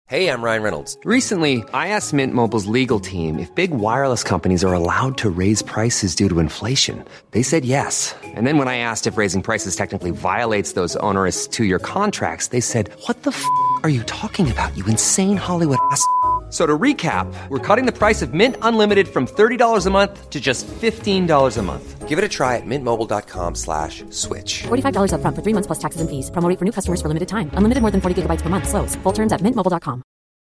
Hey, I'm Ryan Reynolds. Recently, I asked Mint Mobile's legal team if big wireless companies are allowed to raise prices due to inflation. They said yes. And then when I asked if raising prices technically violates those onerous 2-year contracts, they said, "What the are you talking about, you insane Hollywood ass?" So to recap, we're cutting the price of Mint Unlimited from $30 a month to just $15 a month. Give it a try at mintmobile.com/switch. $45 up front for 3 months plus taxes and fees. Promo rate for new customers for limited time. Unlimited more than 40 gigabytes per month. Slows full terms at mintmobile.com.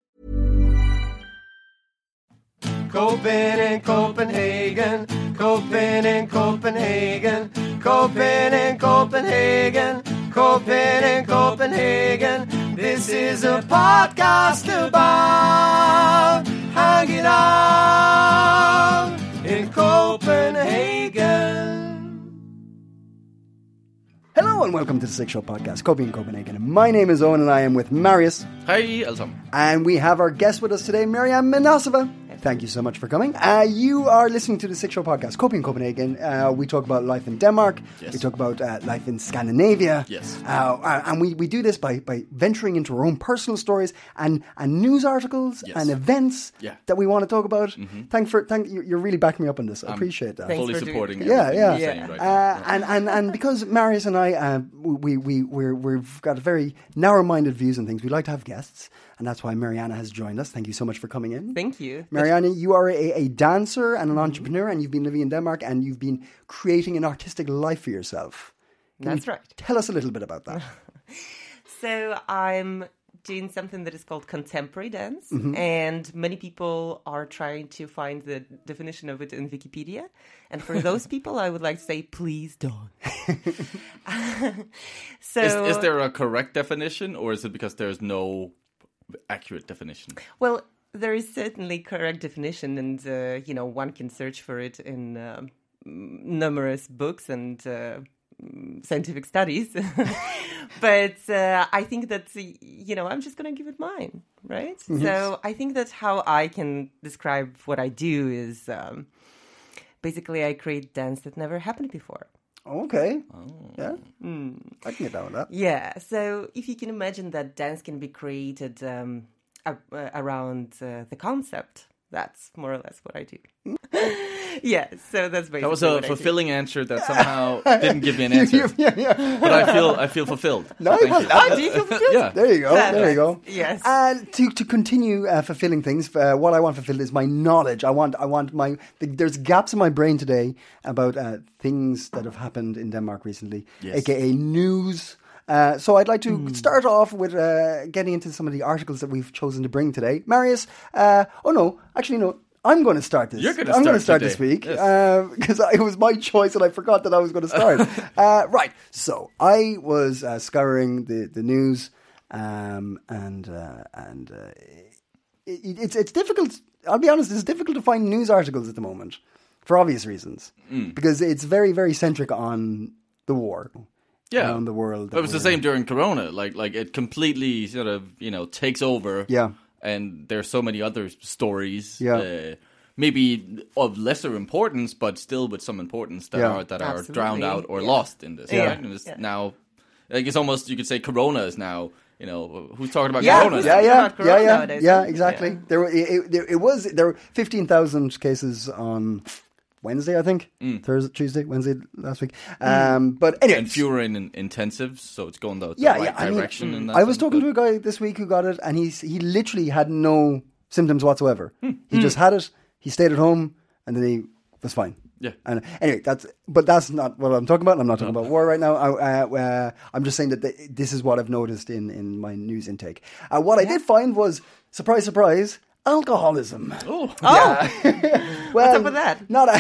Copenhagen, Copenhagen, Copenhagen, Copenhagen, Copenhagen, Copenhagen, Copenhagen, Copenhagen. This is a podcast about hanging out in Copenhagen. Hello and welcome to the Six Show Podcast, Copenhagen. My name is Owen and I am with Marius. Hej alle sammen. And we have our guest with us today, Marianne Manasova. Thank you so much for coming. You are listening to the Six Show Podcast, Copenhagen. We talk about life in Denmark. Yes. We talk about life in Scandinavia. Yes. And we do this by venturing into our own personal stories and news articles Yes. and events that we want to talk about. Mm-hmm. You're really backing me up on this. I appreciate that. Fully supporting Yeah, everything yeah. you're saying right now. And because Marius and I, we've got very narrow-minded views on things. We like to have guests, and that's why Mariana has joined us. Thank you so much for coming in. Thank you. Mariana, you are a dancer and an entrepreneur, and you've been living in Denmark, and you've been creating an artistic life for yourself. That's right. Tell us a little bit about that. So I'm doing something that is called contemporary dance, and many people are trying to find the definition of it in Wikipedia. And for those people, I would like to say, please don't. So, Is there a correct definition, or is it because there's no accurate definition? well, there is certainly correct definition, and one can search for it in numerous books and scientific studies. But I think that I'm just going to give it mine, right? So I think that how I can describe what I do is basically I create dance that never happened before. Okay. Yeah. I can get down with that. Yeah. So if you can imagine that dance can be created around the concept, that's more or less what I do. Yeah. So that's basically That was a what fulfilling answer that somehow didn't give me an answer. Yeah. But I feel fulfilled. No, Thank well, you. do you feel fulfilled? Yeah. There you go. There you go. Yes. To continue fulfilling things, what I want fulfilled is my knowledge. I want my. There's gaps in my brain today about things that have happened in Denmark recently, Yes. aka news. So I'd like to start off with getting into some of the articles that we've chosen to bring today. Marius, no. I'm going to start this. You're going to I'm start going to start today. this week Yes. because it was my choice and I forgot that I was going to start. Right. So I was scouring the news, it's difficult. I'll be honest. It's difficult to find news articles at the moment for obvious reasons because it's very, very centric on the war. Around the world. It was the same during Corona. Like it completely sort of, takes over. Yeah. And there's so many other stories. Yeah. Maybe of lesser importance, but still with some importance that are Absolutely. drowned out or Yeah. lost in this. Yeah. Right? And it's now, like it's almost, you could say Corona is now, who's talking about Yeah. Corona? About Corona nowadays, yeah, huh? exactly. Yeah. There were 15,000 cases on Wednesday, I think. Tuesday, Wednesday last week. But anyway, And fewer in intensives, so it's going the right direction. In that I was sense, talking but- to a guy this week who got it, and he literally had no symptoms whatsoever. He just had it. He stayed at home, and then he was fine. Yeah. And anyway, that's not what I'm talking about. I'm not talking about war right now. I'm just saying that this is what I've noticed in my news intake. What I did find was, surprise, surprise, alcoholism. Oh. Well, what's up with that?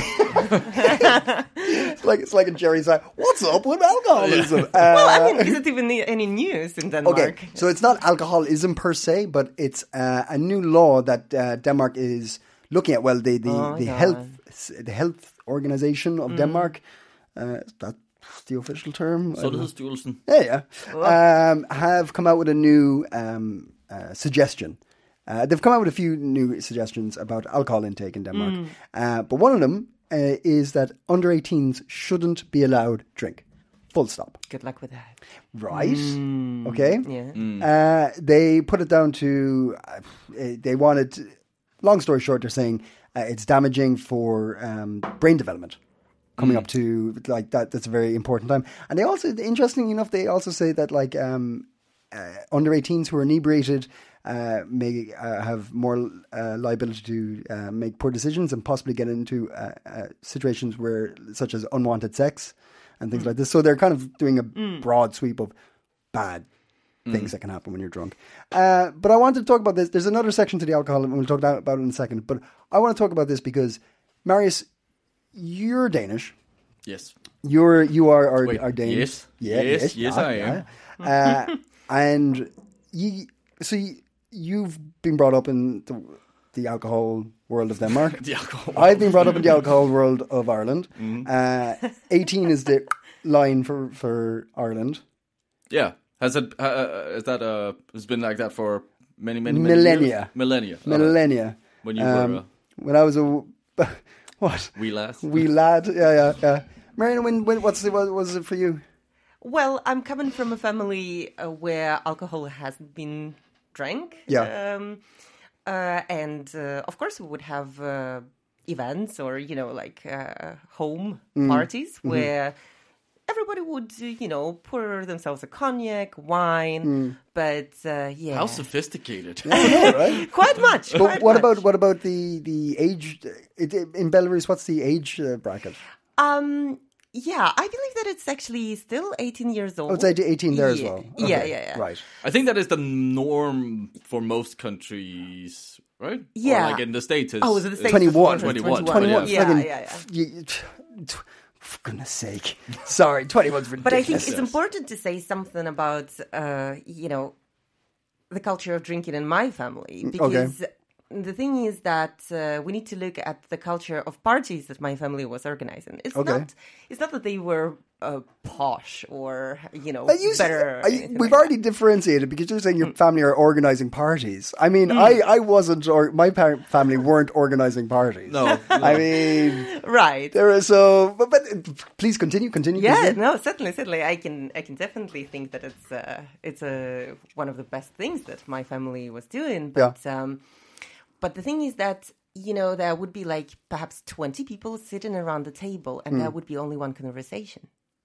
It's like a Jerry side. What's up with alcoholism? Is it even any news in Denmark? Okay, so it's not alcoholism per se, but it's a new law that Denmark is looking at. Well, the health organization of Denmark, that's the official term. Sundhedsstyrelsen. Yeah. Have come out with a new suggestion. They've come out with a few new suggestions about alcohol intake in Denmark. But one of them is that under 18s shouldn't be allowed drink. Full stop. Good luck with that. Right. Okay. Yeah. They put it down to they wanted. Long story short, they're saying it's damaging for brain development. Coming up to like that's a very important time. And they also, interestingly enough, they also say that like under 18s who are inebriated may have more liability to make poor decisions and possibly get into situations where, such as unwanted sex and things like this. So they're kind of doing a broad sweep of bad things that can happen when you're drunk. But I wanted to talk about this. There's another section to the alcohol, and we'll talk about it in a second. But I want to talk about this because, Marius, you're Danish. Yes. You are our Danish. Yes. Yes, I am. And you've been brought up in the alcohol world of Denmark. The alcohol. I've been brought up in the alcohol world of Ireland. 18 is the line for Ireland. Yeah. Has been like that for many millennia. years? Millennia. Millennia. When you were when I was a what? Wee lad. Wee lad. Yeah. Marianne, what was it for you? Well, I'm coming from a family where alcohol hasn't been drank. Yeah. And of course we would have events or, like home parties where everybody would, pour themselves a cognac, wine, but yeah. How sophisticated. Right? Quite much. But what about the age in Belarus? What's the age bracket? Yeah, I believe that it's actually still 18 years old. Oh, it's 18 there as well. Okay. Yeah. Right. I think that is the norm for most countries, right? Yeah. Or like in the States. Oh, is it the States? 21. 21. Yeah. For goodness sake. Sorry, 21's ridiculous. But I think it's important to say something about, the culture of drinking in my family. Because the thing is that we need to look at the culture of parties that my family was organizing. It's not that they were posh or, better. We've already differentiated because you're saying your family are organizing parties. I mean, I wasn't, or my family weren't organizing parties. No. I mean, right. There is so, but please continue. Yeah, no, certainly. I can definitely think that it's one of the best things that my family was doing. But but the thing is that, there would be like perhaps 20 people sitting around the table and there would be only one conversation.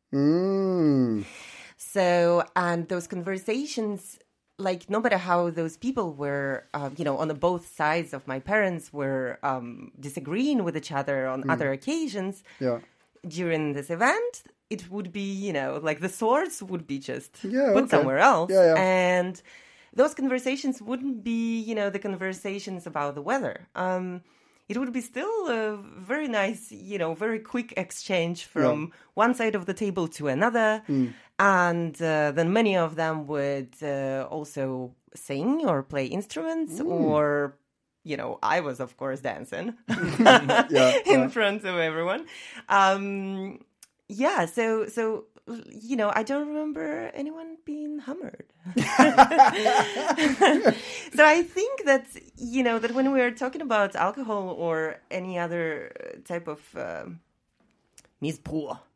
So, and those conversations, like no matter how those people were, on the both sides of my parents were disagreeing with each other on other occasions during this event, it would be, like the swords would be just put somewhere else. And those conversations wouldn't be, the conversations about the weather. It would be still a very nice, very quick exchange from one side of the table to another. And then many of them would also sing or play instruments or, I was, of course, dancing in front of everyone. So I don't remember anyone being hammered. So I think that, that when we're talking about alcohol or any other type of misbrauch,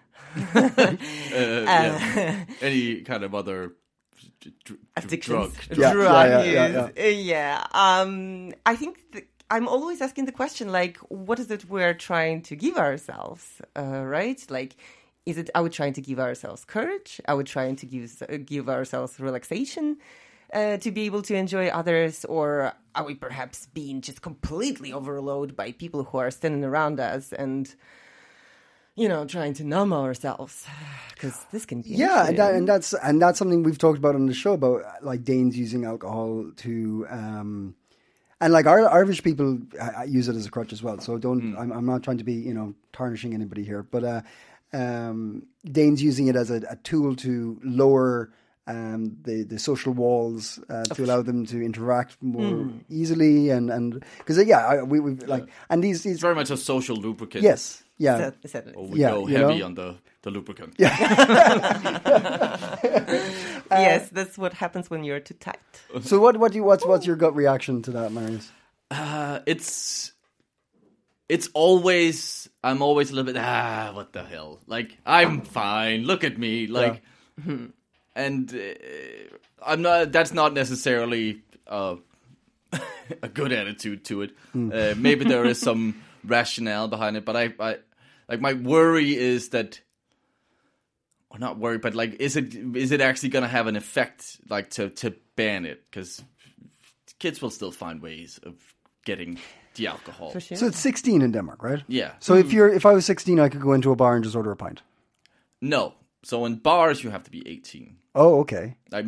any kind of other addictions, drug use. I think I'm always asking the question, like, what is it we're trying to give ourselves, right? Like, are we trying to give ourselves courage? Are we trying to give ourselves relaxation to be able to enjoy others? Or are we perhaps being just completely overloaded by people who are standing around us and, trying to numb ourselves? Because this can be and that's something we've talked about on the show about, like, Danes using alcohol to and like Irish people use it as a crutch as well. So I'm not trying to be tarnishing anybody here, but Danes using it as a tool to lower the social walls to allow them to interact more easily and because we've like and these it's very much a social lubricant. Yes, yeah. Or we go heavy on the lubricant. Yeah. Yes, that's what happens when you're too tight. So what's your gut reaction to that, Marius? I'm always a little bit, what the hell? Like, I'm fine. Look at me. Like, and I'm not, that's not necessarily a good attitude to it. Maybe there is some rationale behind it, but I like, my worry is that, or not worry, but like, is it actually going to have an effect, like, to ban it? Because kids will still find ways of getting the alcohol. For sure. So it's 16 in Denmark, right? Yeah. So if I was 16, I could go into a bar and just order a pint. No. So in bars, you have to be 18. Oh, okay. Like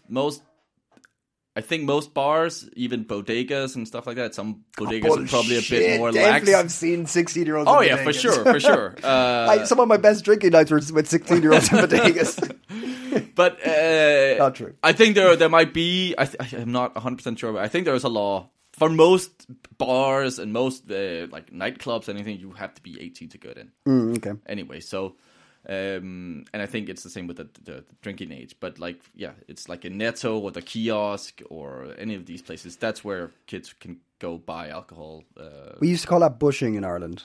I think most bars, even bodegas and stuff like that, some bodegas are probably a bit more lax. Definitely, I've seen 16-year-olds. Oh in yeah, bodegas. for sure. Some of my best drinking nights were with 16-year-olds in bodegas. But Not true. I think there might be. I'm not 100% sure, but I think there is a law for most bars and most like nightclubs. Anything, you have to be 18 to get in. Okay. Anyway, so. And I think it's the same with the drinking age. But like, yeah, it's like a Netto or the kiosk or any of these places. That's where kids can go buy alcohol. We used to call that bushing in Ireland.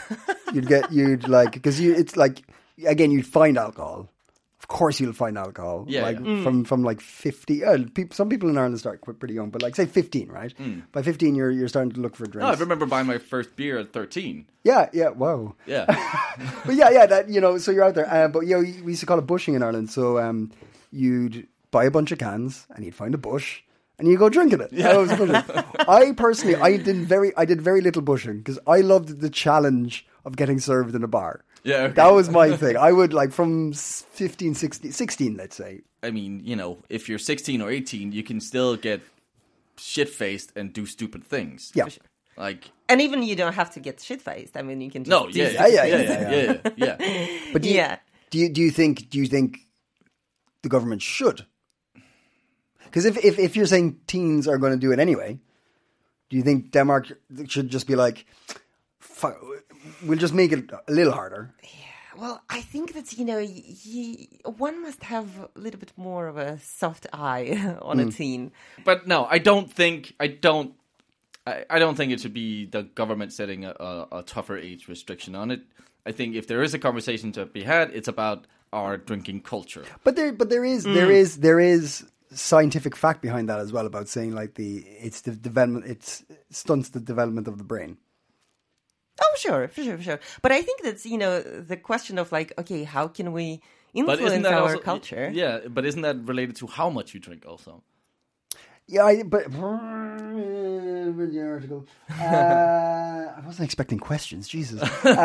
It's like, again, you'd find alcohol. Of course you'll find alcohol. Yeah, from like 50. Some people in Ireland start pretty young, but like say 15, right? By 15 you're starting to look for drinks. No, I remember buying my first beer at 13. Yeah, wow. Yeah. But yeah, that, so you're out there. But we used to call it bushing in Ireland. So you'd buy a bunch of cans and you'd find a bush and you go drinking it. Yeah. That was bushing. I personally, I did very little bushing because I loved the challenge of getting served in a bar. Yeah, okay. That was my thing. I would like from 16, let's say. I mean, if you're 16 or 18, you can still get shit-faced and do stupid things. Yeah. Like, And even you don't have to get shit-faced. I mean, you can just no, do yeah. But do you think the government should? Because if you're saying teens are going to do it anyway, do you think Denmark should just be like, we'll just make it a little harder? Well, I think that, one must have a little bit more of a soft eye on a teen. But no, I don't think it should be the government setting a tougher age restriction on it. I think if there is a conversation to be had, it's about our drinking culture. But there is scientific fact behind that as well, about saying like it stunts the development of the brain. Oh, sure. But I think that's, the question of like, okay, how can we influence our also, culture? Yeah, but isn't that related to how much you drink also? Yeah, but the article. I wasn't expecting questions. Jesus.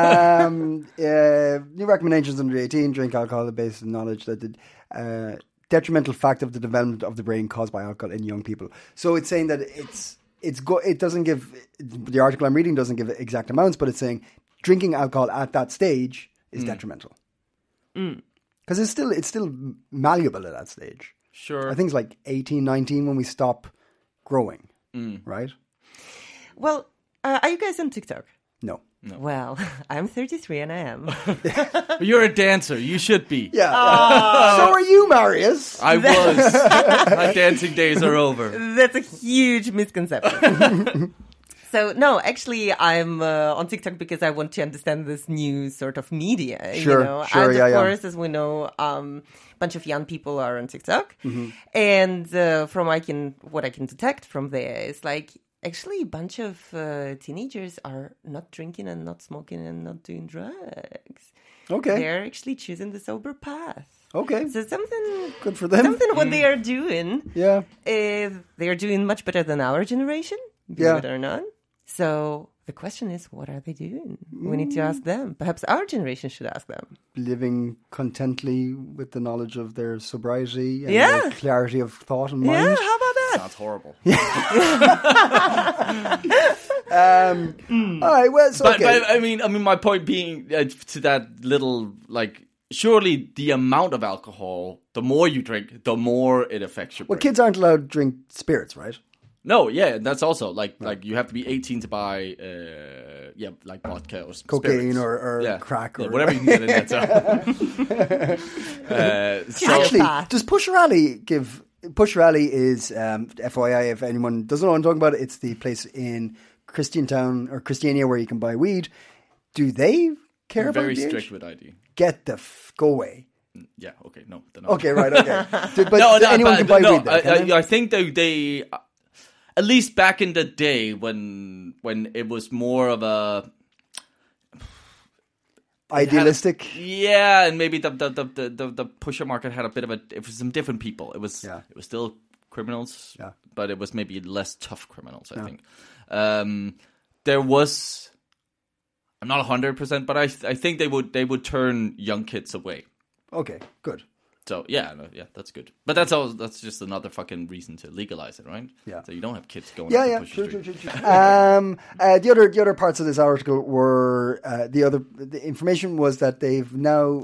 New recommendations under 18: drink alcohol based on knowledge that the detrimental fact of the development of the brain caused by alcohol in young people. So it's saying that it doesn't give, the article I'm reading doesn't give exact amounts, but it's saying drinking alcohol at that stage is detrimental. Because it's still malleable at that stage. Sure. I think it's like 18, 19 when we stop growing, right? Well, are you guys on TikTok? No. Well, I'm 33 and I am. You're a dancer. You should be. Yeah. So are you, Marius? I was. My dancing days are over. That's a huge misconception. So, no, actually, I'm on TikTok because I want to understand this new sort of media. Sure, and of course, as we know, a bunch of young people are on TikTok. And from what I can detect from there is like, actually, a bunch of teenagers are not drinking and not smoking and not doing drugs. Okay. They're actually choosing the sober path. Okay. So something good for them. Something what they are doing. Yeah. They are doing much better than our generation, believe it or not. So the question is, what are they doing? We need to ask them. Perhaps our generation should ask them. Living contently with the knowledge of their sobriety and the clarity of thought and mind. Yeah, how about that? Sounds horrible. All right, well, so but I mean, my point being to that little, like, surely the amount of alcohol, the more you drink, the more it affects your brain. Well, kids aren't allowed to drink spirits, right? No, yeah, that's also like you have to be 18 to buy like vodka or cocaine spirits. or crack or whatever you can get in that town. Actually, does Pusher Alley give? Pusher Alley is FYI, if anyone doesn't know what I'm talking about, it's the place in Christiantown or Christiania where you can buy weed, do they care about Very the age? strict with ID. Get the go away. Yeah. Okay. No. They're not. Okay, right. Okay, but anyone can buy weed there. Can they? I think they at least back in the day when it was more of a Idealistic. and maybe the pusher market had a bit of it was some different people. It was still criminals, but it was maybe less tough criminals. I think there was. I'm not 100%, but I think they would turn young kids away. Okay, good. So yeah, that's good. But that's just another fucking reason to legalize it, right? Yeah. So you don't have kids going. Yeah, true. The other parts of this article were the information was that they've now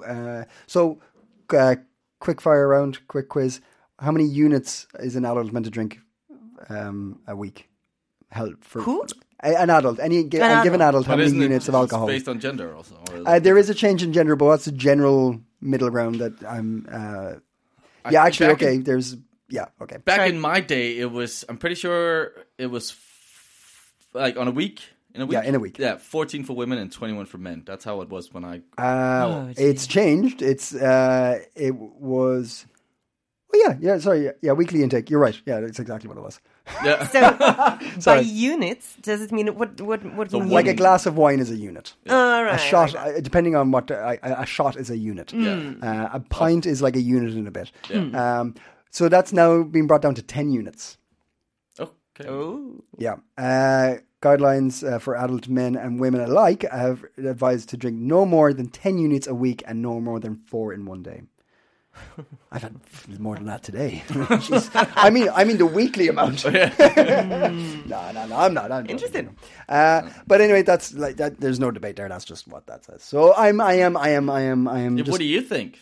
quick fire round, quick quiz. How many units is an adult meant to drink a week? Who? An adult. A given adult, how many units of alcohol? It's based on gender also. There is a change in gender, but that's a general middle ground that I'm. Okay. Okay. Back in my day, it was. I'm pretty sure it was like on a week. In a week. Yeah, in a week. Yeah, 14 for women and 21 for men. That's how it was when I. It's changed. It was. Oh sorry. Yeah, weekly intake. You're right. Yeah, that's exactly what it was. Yeah. So by units, does it mean what So mean? Like a glass of wine is a unit. Right, A shot, right. depending on what a shot is a unit. A pint is like a unit in a bit. Yeah. So that's now been brought down to 10 units. Okay. Oh. Yeah. Guidelines for adult men and women alike have advised to drink no more than 10 units a week and no more than 4 in one day. I've had more than that today. Jeez. I mean the weekly amount. No, I'm not. I'm Interesting. But anyway, that's like that. There's no debate there. That's just what that says. So I am. Just, What do you think?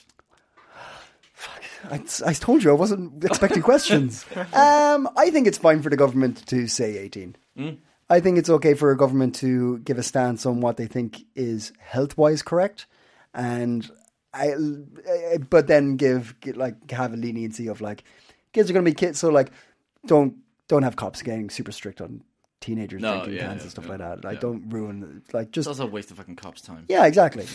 I told you I wasn't expecting questions. I think it's fine for the government to say 18. I think it's okay for a government to give a stance on what they think is health-wise correct, and but then have a leniency of like kids are going to be kids, so like don't have cops getting super strict on teenagers drinking cans and stuff like that. Like don't ruin just. It's also a waste of fucking cops' time. Yeah, exactly.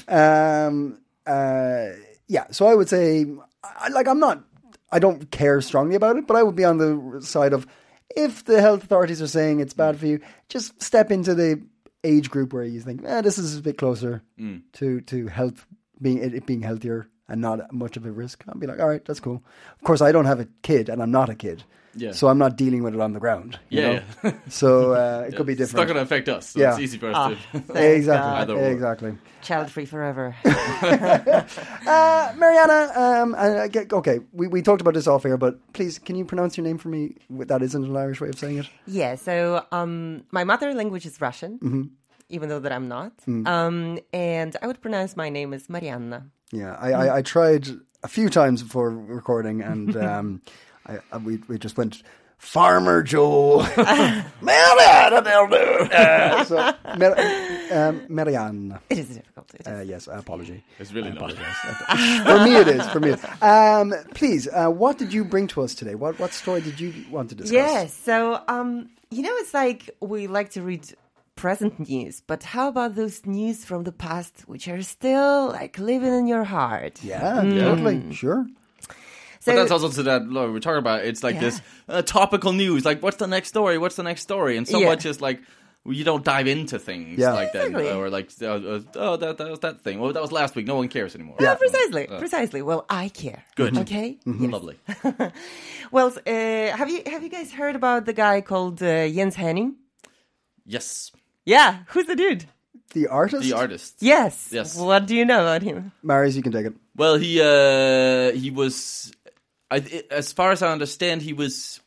So I would say I don't care strongly about it, but I would be on the side of if the health authorities are saying it's bad for you, just step into the age group where you think, this is a bit closer to health. Being healthier and not much of a risk, I'll be like, all right, that's cool. Of course, I don't have a kid, and I'm not a kid, so I'm not dealing with it on the ground. You know? So it could be different. It's not going to affect us. So it's easy for us to. Exactly. Child free forever. Mariana, okay, we talked about this off air, but please, can you pronounce your name for me? That isn't an Irish way of saying it. Yeah. So my mother language is Russian. Mm-hmm. Even though that I'm not. And I would pronounce my name as Marianna. Yeah, I tried a few times before recording, and we just went, Farmer Joe. Marianna, they'll do. Marianna. It is difficult. Yes, apology. It's really not. For me it is. Please, what did you bring to us today? What story did you want to discuss? Yes, so, it's like we like to read present news, but how about those news from the past which are still like living in your heart? Yeah, totally, sure. So, but that's also to that we're talking about. It's like this topical news. Like, what's the next story? What's the next story? And so much is like you don't dive into things like that, or like that was that thing. Well, that was last week. No one cares anymore. Yeah, precisely. Well, I care. Good. Okay. Mm-hmm. Yes. Lovely. Well, have you guys heard about the guy called Jens Henning? Yes. Yeah, who's the dude? The artist? The artist. Yes. Yes. What do you know about him? Marius, you can take it. Well, he was, as far as I understand, he was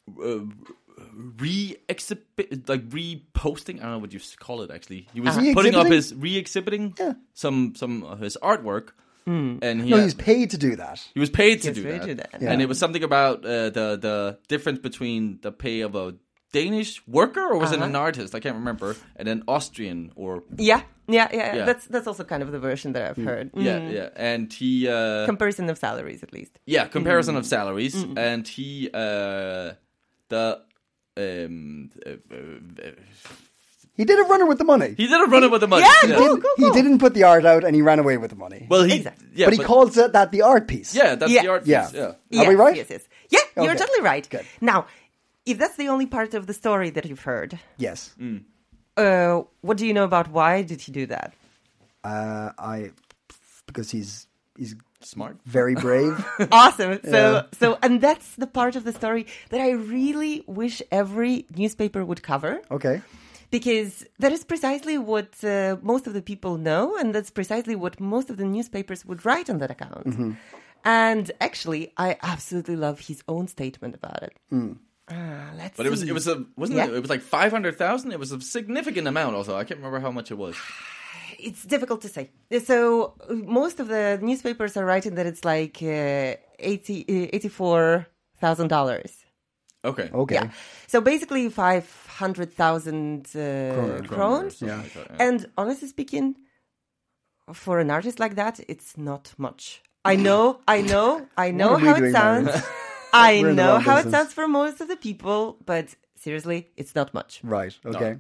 reposting. I don't know what you call it. Actually, he was putting up his re-exhibiting some of his artwork. And he was paid to do that. He was paid to do that. Yeah. And it was something about the difference between the pay of a Danish worker, or was it an artist? I can't remember. And then Austrian, or yeah. That's also kind of the version that I've heard. Yeah. And he comparison of salaries, at least. Yeah, comparison of salaries, and he He did a runner with the money. He did a runner with the money. Yeah, cool. He didn't put the art out and he ran away with the money. Well, Exactly. yeah, but he calls that the art piece. Yeah, that's Yeah. the art Yeah. piece. Yeah. Are we right? Yes. Yeah, you're Okay. totally right. Good. Now, if that's the only part of the story that you've heard, Yes. what do you know about why did he do that? Because he's Smart. very brave. Awesome. So, and that's the part of the story that I really wish every newspaper would cover. Okay. Because that is precisely what most of the people know, and that's precisely what most of the newspapers would write on that account. Mm-hmm. And actually, I absolutely love his own statement about it. Let's But it see. was wasn't Yeah. it? It was like 500,000. It was a significant amount. Also, I can't remember how much it was. It's difficult to say. So most of the newspapers are writing that it's like $84,000. Okay. Okay. Yeah. So basically 500,000 krones. Yeah. And honestly speaking, for an artist like that, it's not much. I know What are we how it doing, sounds. Marion? I We're in the know wrong how it business. sounds for most of the people, but seriously, it's not much. Right. Okay.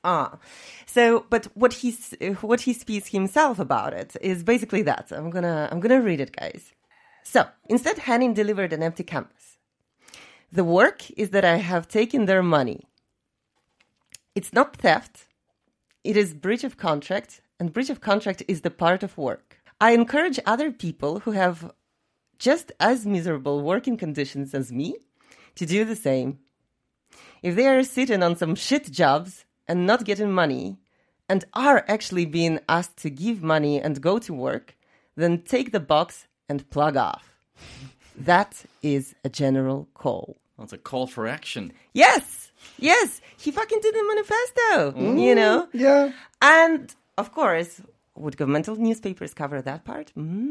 So, but what he speaks himself about it is basically that. I'm gonna read it, guys. So, instead, Henning delivered an empty canvas. The work is that I have taken their money. It's not theft. It is breach of contract, and breach of contract is the part of work. I encourage other people who have just as miserable working conditions as me to do the same. If they are sitting on some shit jobs and not getting money, and are actually being asked to give money and go to work, then take the box and plug off. That is a general call. That's a call for action. Yes, he fucking did the manifesto, you know? Yeah. And, of course, would governmental newspapers cover that part?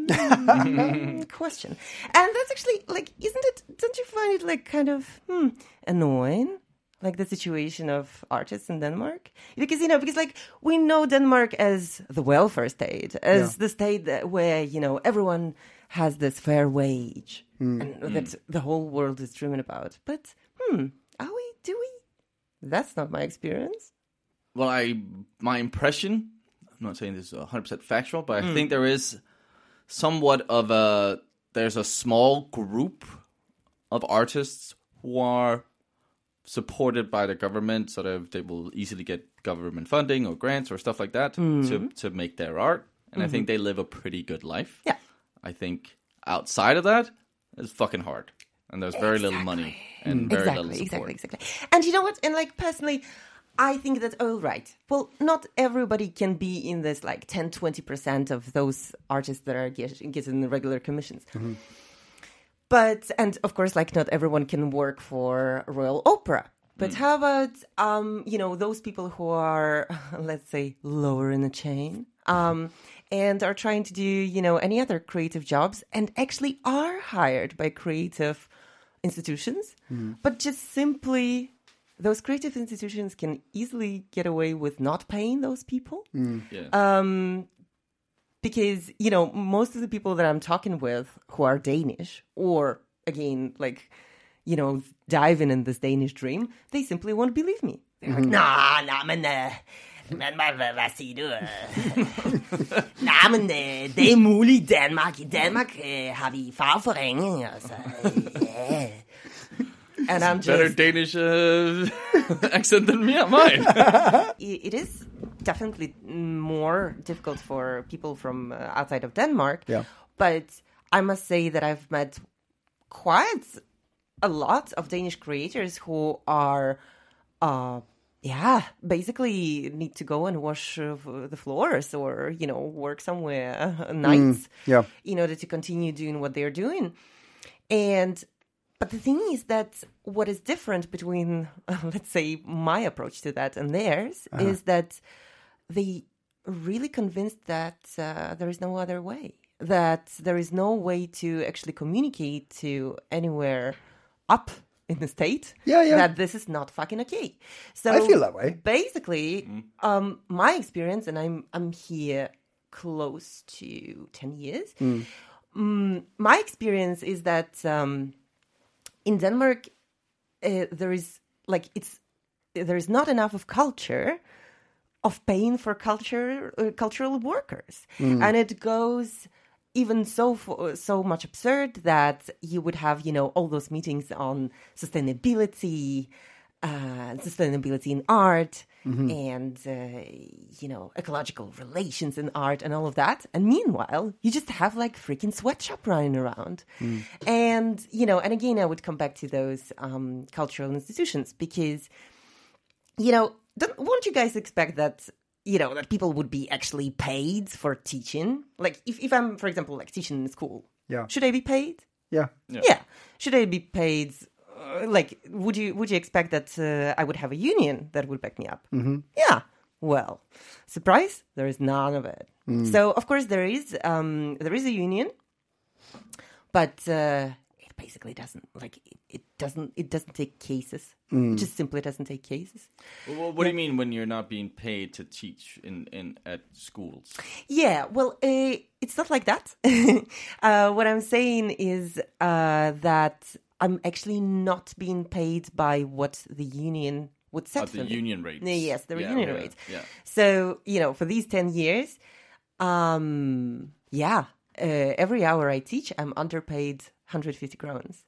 Question. And that's actually, like, don't you find it, like, kind of annoying? Like the situation of artists in Denmark? Because, like, we know Denmark as the welfare state, as the state where, everyone has this fair wage and that the whole world is dreaming about. But, are we? Do we? That's not my experience. Well, my impression, I'm not saying this is 100% factual, but I think there is somewhat of there's a small group of artists who are supported by the government, so that they will easily get government funding or grants or stuff like that to make their art. And I think they live a pretty good life. Yeah. I think outside of that, it's fucking hard. And there's very little money and very little support. Exactly. And you know what? And like personally, I think that, well, not everybody can be in this like 10-20% of those artists that are getting the regular commissions. Mm-hmm. But, and of course, like not everyone can work for Royal Opera. But how about, those people who are, let's say, lower in the chain and are trying to do, any other creative jobs and actually are hired by creative institutions, but just simply those creative institutions can easily get away with not paying those people. Because, most of the people that I'm talking with who are Danish or, again, like, diving in this Danish dream, they simply won't believe me. They're like, men, hvad siger du? Nej, men det er muligt i Danmark. I Danmark har vi fagforening, altså. Yeah. And I'm just... Better Danish accent than mine. It is definitely more difficult for people from outside of Denmark. Yeah. But I must say that I've met quite a lot of Danish creators who are... basically need to go and wash the floors or, work somewhere nights in order to continue doing what they're doing. But the thing is that what is different between, let's say, my approach to that and theirs is that they really convinced that there is no other way, that there is no way to actually communicate to anywhere up in the state that this is not fucking okay. So I feel that way. Basically, my experience, and I'm here close to 10 years, my experience is that in Denmark, there is not enough of culture of paying for cultural workers. And it goes even so much absurd that you would have, all those meetings on sustainability in art, and, ecological relations in art and all of that. And meanwhile, you just have like freaking sweatshop running around. And, and again, I would come back to those cultural institutions because, won't you guys expect that, that people would be actually paid for teaching? Like if I'm, for example, like teaching in school, should I be paid? Yeah. Should I be paid? Would you expect that I would have a union that would back me up? Yeah. Well, surprise, there is none of it. So of course there is a union, but it basically doesn't it doesn't take cases. It just simply doesn't take cases. Well, what do you mean when you're not being paid to teach at schools? Yeah, well, it's not like that. What I'm saying is that I'm actually not being paid by what the union would set for me. The union rates. Yes, the union rates. Yeah. So, for these 10 years, every hour I teach, I'm underpaid 150 crowns.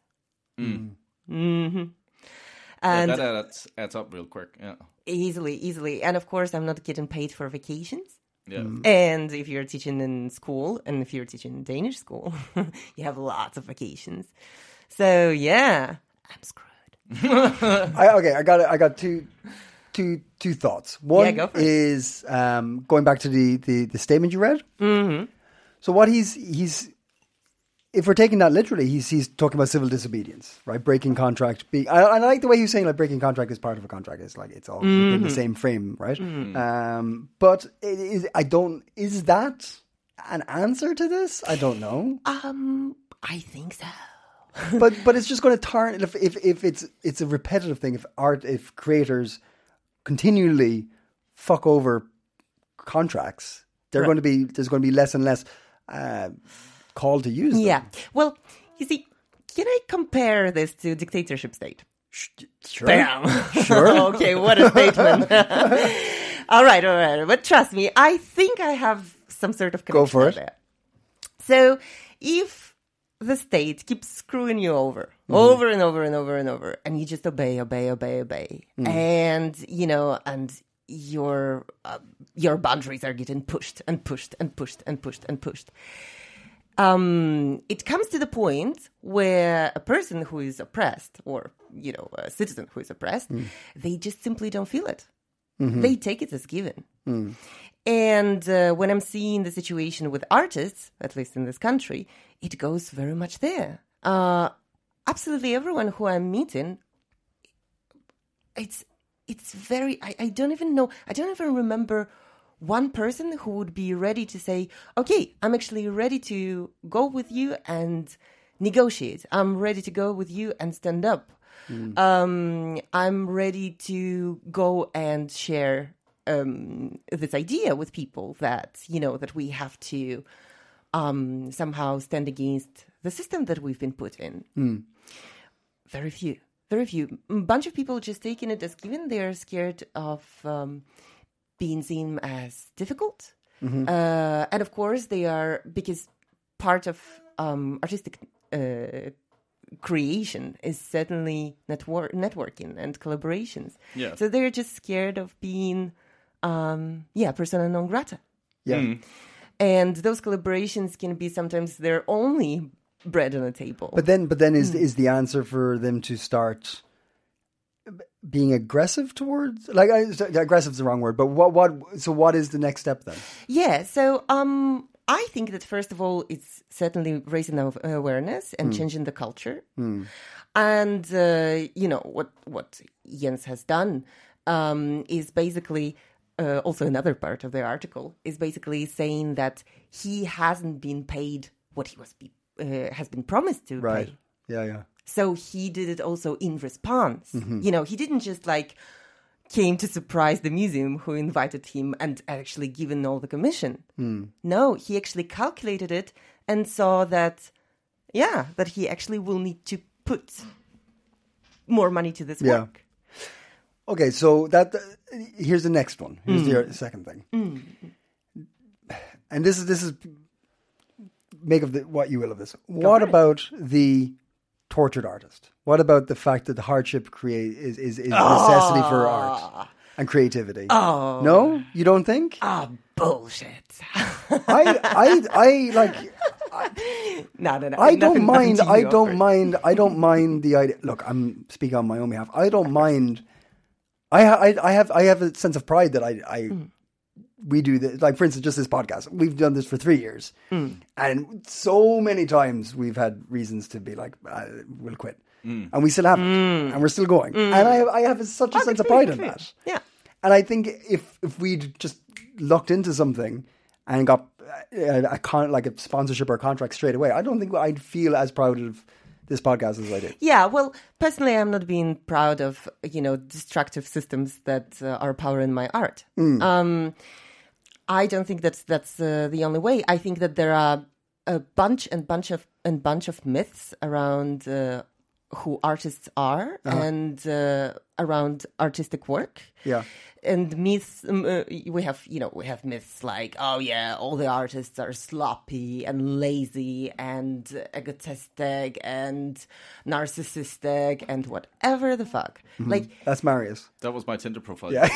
And that adds up real quick. Yeah. Easily. And of course, I'm not getting paid for vacations. Yeah. And if you're teaching in school, and if you're teaching in Danish school, you have lots of vacations. So yeah, I'm screwed. I got two thoughts. One go for it. is going back to the statement you read. So what he's if we're taking that literally, he's talking about civil disobedience, right? Breaking contract. I like the way he's saying like breaking contract is part of a contract. It's like it's all within the same frame, right? But is that an answer to this? I don't know. I think so. but it's just going to turn if it's a repetitive thing. If creators continually fuck over contracts, there's going to be less and less call to use them. Yeah. Well, you see, can I compare this to dictatorship state? Sure. Bam. Sure. Okay, what a statement. All right. But trust me, I think I have some sort of connection. Go for it. There. So if the state keeps screwing you over and over and over and over, and you just obey, and and your boundaries are getting pushed. It comes to the point where a person who is oppressed, or a citizen who is oppressed, they just simply don't feel it. They take it as given. And when I'm seeing the situation with artists, at least in this country, it goes very much there. Absolutely everyone who I'm meeting, it's very, I don't even know, I don't even remember one person who would be ready to say, okay, I'm actually ready to go with you and negotiate. I'm ready to go with you and stand up. I'm ready to go and share this idea with people that, that we have to somehow stand against the system that we've been put in. Very few. A bunch of people just taking it as given. They're scared of being seen as difficult. And of course they are, because part of artistic creation is certainly networking and collaborations. Yeah. So they're just scared of being, persona non grata. Yeah. And those collaborations can be sometimes their only bread on the table. But then is the answer for them to start being aggressive towards, like, aggressive is the wrong word, but what is the next step then? Yeah. So, I think that first of all, it's certainly raising awareness and changing the culture. And, what Jens has done is basically, also another part of the article, is basically saying that he hasn't been paid what he has been promised to right. pay. Yeah. So he did it also in response. He didn't just came to surprise the museum who invited him and actually given all the commission. No, he actually calculated it and saw that he actually will need to put more money to this work. Okay, so here's the next one. Here's the second thing. And this is make of what you will of this. What about the tortured artist? What about the fact that the hardship is necessity for art and creativity? Oh. No, you don't think? Bullshit. I like. No. I don't Nothing mind. to you, I of don't course. mind. I don't mind the idea. Look, I'm speaking on my own behalf. I don't mind. I have a sense of pride that we do this. Like, for instance, just this podcast. We've done this for 3 years, and so many times we've had reasons to be like, "We'll quit," and we still haven't, and we're still going. And I have such a sense of pride in that. Yeah. And I think if we'd just looked into something and got like a sponsorship or a contract straight away, I don't think I'd feel as proud of this podcast as I did. Yeah, well, personally, I'm not being proud of, destructive systems that are powering my art. I don't think that's the only way. I think that there are a bunch of myths around who artists are and around artistic work. Yeah. And myths, we have myths like, oh yeah, all the artists are sloppy and lazy and egotistic and narcissistic and whatever the fuck. Like, That's Marius. That was my Tinder profile. Yeah.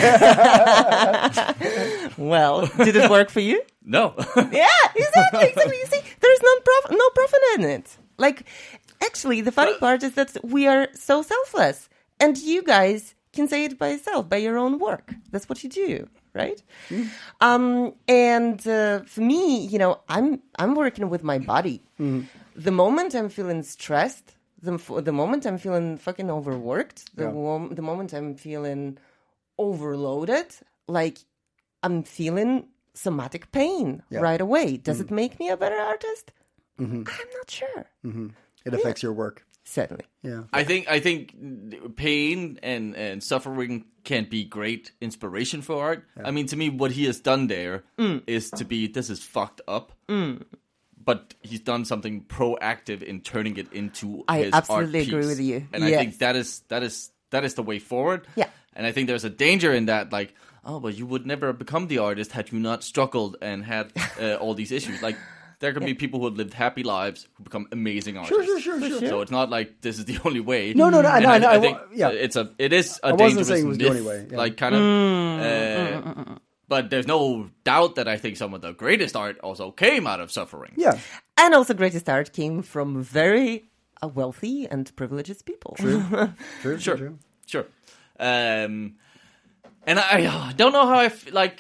well, did it work for you? No. Yeah, exactly. You see, there's no profit in it. Like, actually, the funny part is that we are so selfless, and you guys can say it by yourself, by your own work. That's what you do, right? And for me, I'm working with my body. The moment I'm feeling stressed, the moment I'm feeling fucking overworked, the moment I'm feeling overloaded, like I'm feeling somatic pain right away. Does it make me a better artist? I'm not sure. It affects your work. Certainly. Yeah. I think pain and suffering can be great inspiration for art. I mean, to me, what he has done there is this is fucked up. But he's done something proactive in turning it into his absolutely art piece. agree with you. And I think that is the way forward. Yeah. And I think there's a danger in that, like, oh, but you would never have become the artist had you not struggled and had all these issues. Like, there can be people who have lived happy lives who become amazing artists. Sure. So it's not like this is the only way. No. I think yeah. it is a I wasn't dangerous saying it was myth, the only way. Yeah. like kind of. But there's no doubt that I think some of the greatest art also came out of suffering. Yeah. And also greatest art came from very wealthy and privileged people. Sure. And I don't know how like,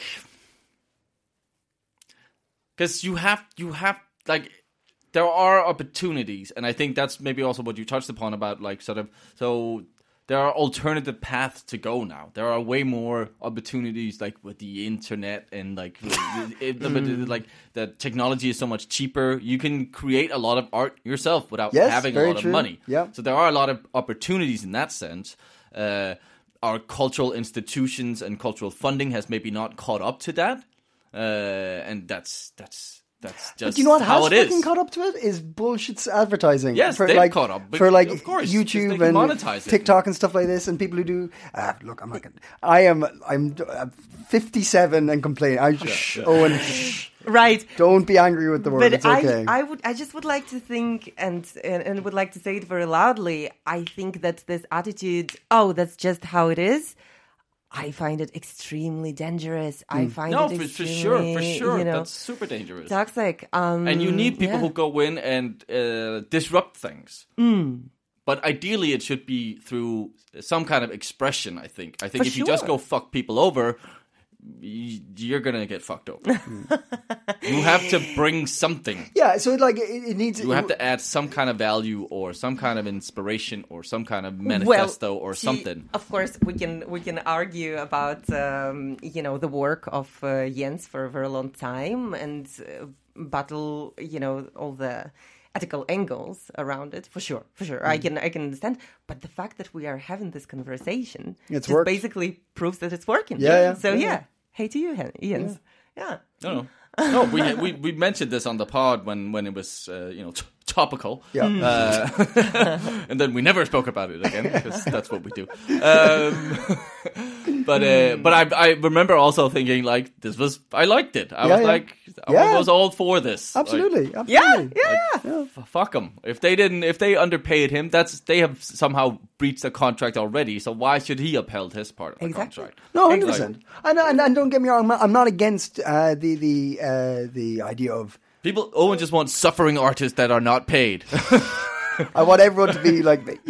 because you have like, there are opportunities, and I think that's maybe also what you touched upon about like sort of, so there are alternative paths to go now. There are way more opportunities like with the internet and like like the technology is so much cheaper. You can create a lot of art yourself without having a lot of money. Yeah. So there are a lot of opportunities in that sense. Our cultural institutions and cultural funding has maybe not caught up to that, and that's just But you know what how has it fucking is. caught up to it is bullshit advertising. Yes, for, they've like, caught up, but for like of course, 'cause they YouTube can and monetize it. TikTok and stuff like this, and people who do. Look, I'm not gonna. I'm 57 and complain. Owen, Right. don't be angry with the word. But It's okay. I just would like to think and would like to say it very loudly. I think that this attitude, oh, that's just how it is. I find it extremely dangerous. I find it for extremely, sure. That's super dangerous. toxic. And you need people who go in and disrupt things. But ideally, it should be through some kind of expression. I think if you just sure. go fuck people over, you're gonna get fucked over. You have to bring something. Yeah, so it needs. You have to add some kind of value or some kind of inspiration or some kind of manifesto or something. Of course, we can argue about the work of Jens for a very long time and battle all the ethical angles around it for sure. I can understand, but the fact that we are having this conversation It's just worked. basically proves that it's working. Yeah. So hey to you, Jens. Yeah. No, we mentioned this on the pod when it was topical. Yeah. And then we never spoke about it again because that's what we do. But I remember also thinking like I liked it. I was all for this. Absolutely. Fuck them. If they underpaid him, they have somehow breached the contract already. So why should he upheld his part of the contract? No, 100%. And don't get me wrong, I'm not against the idea of Owen just wants suffering artists that are not paid. I want everyone to be like me.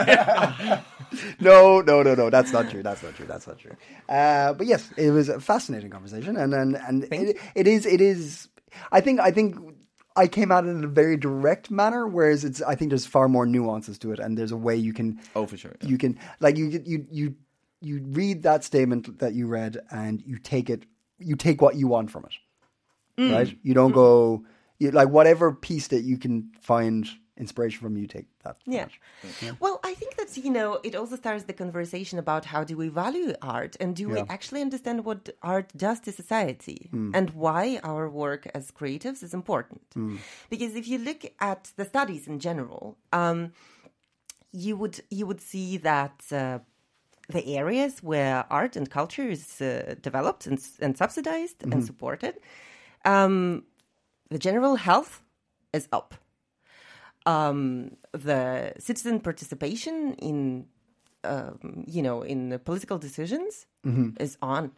No. That's not true. But yes, it was a fascinating conversation, and it is. I think I came at it in a very direct manner, whereas I think there's far more nuances to it, and there's a way you can. Oh, for sure. Yeah. You can you read that statement that you read, and you take what you want from it, right? You don't go like whatever piece that you can find inspiration from, you take that. Yeah. Well, I think that's, it also starts the conversation about how do we value art, and do we actually understand what art does to society and why our work as creatives is important. Because if you look at the studies in general, you would see that the areas where art and culture is developed and subsidized and supported, the general health is up. The citizen participation in the political decisions is on.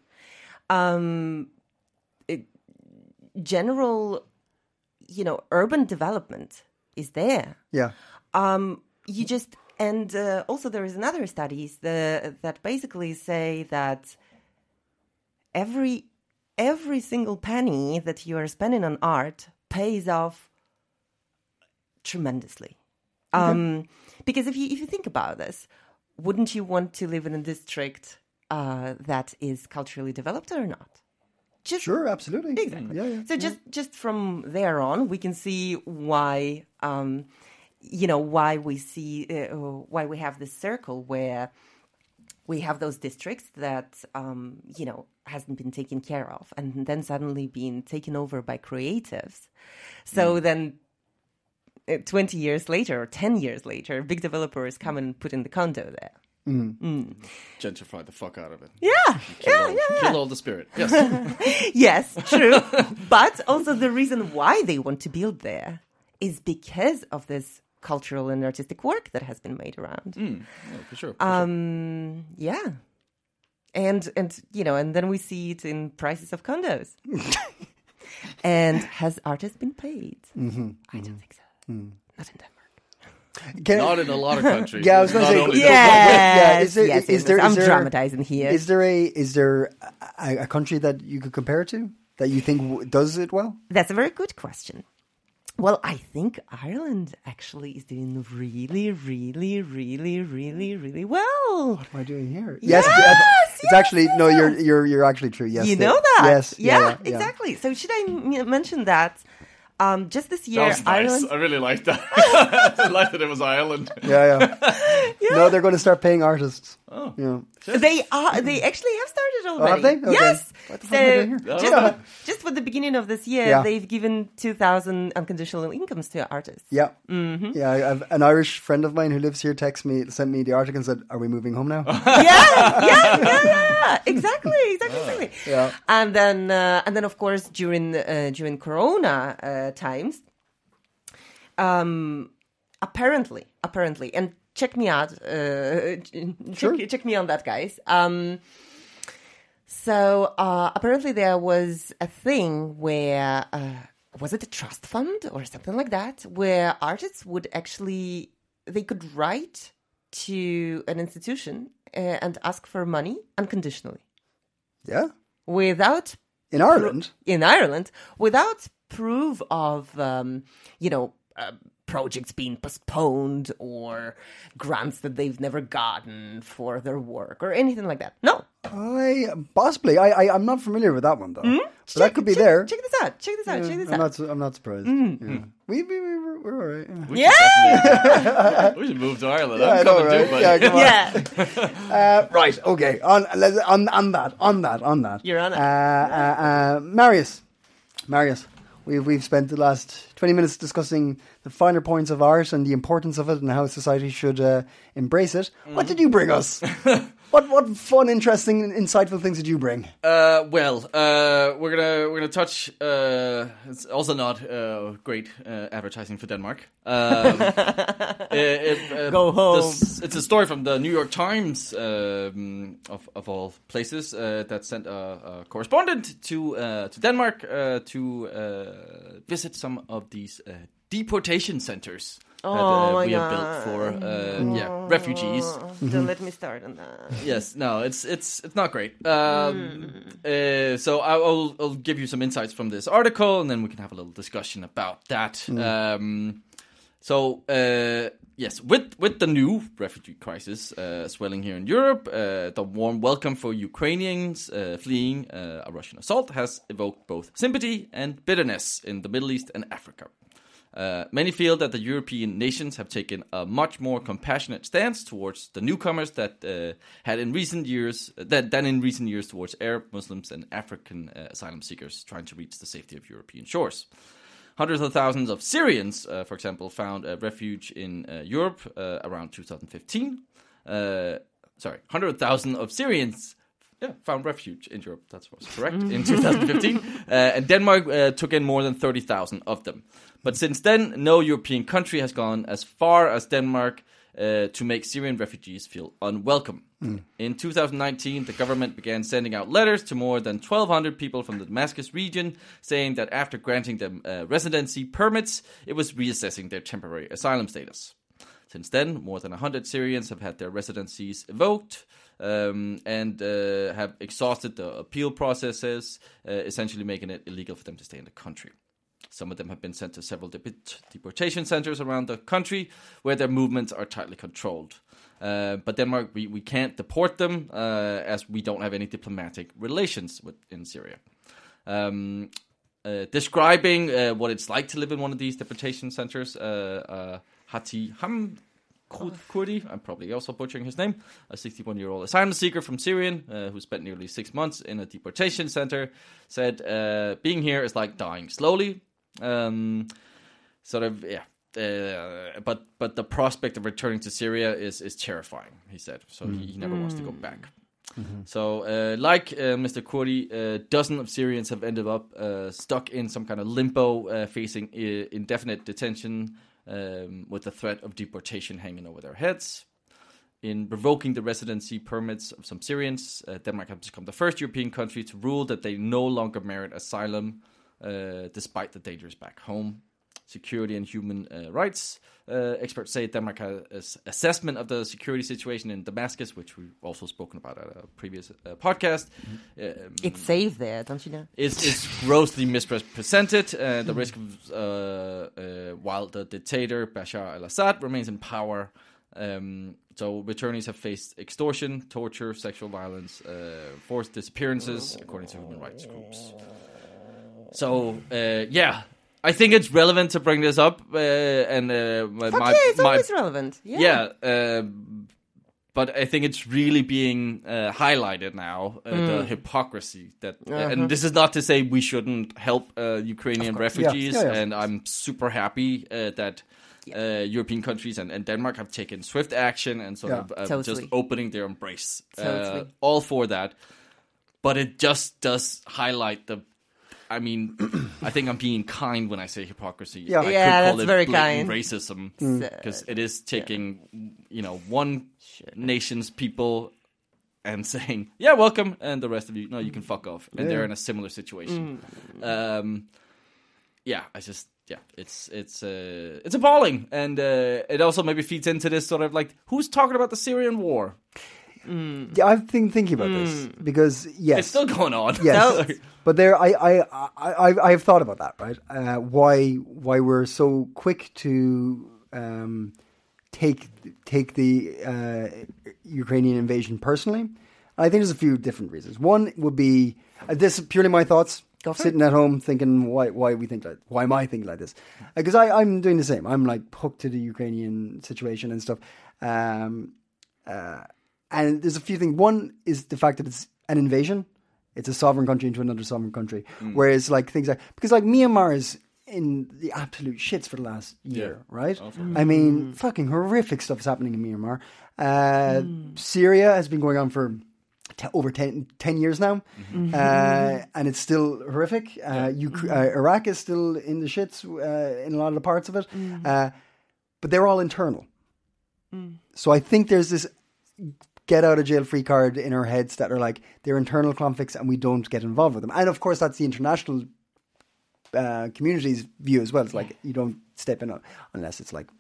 General, urban development is there. Yeah. Also there is another studies that basically say that every single penny that you are spending on art pays off tremendously. Because if you think about this, wouldn't you want to live in a district that is culturally developed or not? Sure, absolutely. Exactly. Yeah. So just from there on, we can see why why we have this circle where we have those districts that hasn't been taken care of, and then suddenly being taken over by creatives. So then 20 years later or 10 years later, big developers come and put in the condo there. Gentrify the fuck out of it. Yeah. Kill all the spirit. Yes. Yes, true. But also the reason why they want to build there is because of this cultural and artistic work that has been made around. For sure. Yeah. And then we see it in prices of condos. And has artists been paid? I don't think so. Not in Denmark. Not in a lot of countries. Yeah, I was going to say. Yes. Is there? I'm dramatizing here. Is there a country that you could compare it to that you think does it well? That's a very good question. Well, I think Ireland actually is doing really, really, really, really, really well. What am I doing here? Yes, it's actually no. You're actually true. Yes, you know that. Yes, yeah, exactly. So should I mention that? Just this year, that was nice. Ireland. I really liked that. I liked that it was Ireland. Yeah. No, they're going to start paying artists. Oh, yeah. They actually have started already. Oh, have they? Okay. Yes. What the fuck am I doing here? Just for the beginning of this year, they've given 2,000 unconditional incomes to artists. Yeah. Mm-hmm. Yeah. I have an Irish friend of mine who lives here. Sent me the article and said, "Are we moving home now?" Yeah. Exactly. Yeah. And then of course during Corona times, apparently, and check me out. Check me on that, guys. So apparently there was a thing where was it a trust fund or something like that, where artists would they could write to an institution and ask for money unconditionally. Yeah. Without in Ireland, without proof of projects being postponed or grants that they've never gotten for their work or anything like that. No. I'm not familiar with that one though. But that could be there. Check this out. I'm not surprised. Yeah. We're all right. Yeah. We should move to Ireland. I'm coming too, buddy. Yeah, come on. Yeah. Right. Okay. On that. You're on it. Marius, We've spent the last 20 minutes discussing the finer points of art and the importance of it and how society should embrace it. What did you bring us? What fun, interesting, insightful things did you bring? We're gonna touch. It's also not great advertising for Denmark. Go home. It's a story from the New York Times, of all places, that sent a correspondent to Denmark to visit some of these deportation centers. That we have built for refugees. Don't let me start on that. Yes, no, it's not great. So I'll give you some insights from this article, and then we can have a little discussion about that. Yes, with the new refugee crisis swelling here in Europe, the warm welcome for Ukrainians fleeing a Russian assault has evoked both sympathy and bitterness in the Middle East and Africa. Many feel that the European nations have taken a much more compassionate stance towards the newcomers than in recent years towards Arab, Muslims, and African asylum seekers trying to reach the safety of European shores. Hundreds of thousands of Syrians, for example, found refuge in Europe around 2015. 100,000 of Syrians found refuge in Europe. That was correct, in 2015. And Denmark took in more than 30,000 of them. But since then, no European country has gone as far as Denmark to make Syrian refugees feel unwelcome. In 2019, the government began sending out letters to more than 1,200 people from the Damascus region, saying that after granting them residency permits, it was reassessing their temporary asylum status. Since then, more than 100 Syrians have had their residencies revoked and have exhausted the appeal processes, essentially making it illegal for them to stay in the country. Some of them have been sent to several deportation centers around the country where their movements are tightly controlled. But Denmark, we can't deport them as we don't have any diplomatic relations in Syria. Describing what it's like to live in one of these deportation centers, Hati Kurdi, I'm probably also butchering his name, a 61-year-old asylum seeker from Syrian who spent nearly 6 months in a deportation center, said, being here is like dying slowly. But the prospect of returning to Syria is terrifying, he said. So he never wants to go back. So, Mr. Kurdi, dozens of Syrians have ended up stuck in some kind of limbo, facing indefinite detention with the threat of deportation hanging over their heads. In revoking the residency permits of some Syrians, Denmark has become the first European country to rule that they no longer merit asylum, despite the dangers back home. Security and human rights experts say Denmark has assessment of the security situation in Damascus, which we've also spoken about at a previous podcast. It's safe there, don't you know? It's grossly misrepresented. The risk of while the dictator Bashar al-Assad remains in power. So returnees have faced extortion, torture, sexual violence, forced disappearances, according to human rights groups. So, I think it's relevant to bring this up, it's always relevant. But I think it's really being highlighted now, the hypocrisy that, and this is not to say we shouldn't help Ukrainian refugees, and I'm super happy that European countries and Denmark have taken swift action and sort of just opening their embrace. All for that, but it just does highlight I mean, I think I'm being kind when I say hypocrisy. I could call it very kind. Racism, because it is taking, one nation's people and saying, "Yeah, welcome," and the rest of you, no, you can fuck off, and they're in a similar situation. It's appalling, and it also maybe feeds into this sort of like, who's talking about the Syrian war? Yeah, I've been thinking about this because it's still going on. Yes, but I've thought about that, right? Why we're so quick to take the Ukrainian invasion personally? I think there's a few different reasons. One would be this is purely my thoughts. Sitting at home thinking why am I thinking like this? Because I'm doing the same. I'm like hooked to the Ukrainian situation and stuff. And there's a few things. One is the fact that it's an invasion. It's a sovereign country into another sovereign country. Whereas like things like, because like Myanmar is in the absolute shits for the last year, right? I mean, fucking horrific stuff is happening in Myanmar. Syria has been going on for over 10 years now, and it's still horrific. Iraq is still in the shits in a lot of the parts of it, but they're all internal. So I think there's this get out of jail free card in our heads that are like, they're internal conflicts and we don't get involved with them. And of course that's the international community's view as well. It's like, you don't step in unless it's like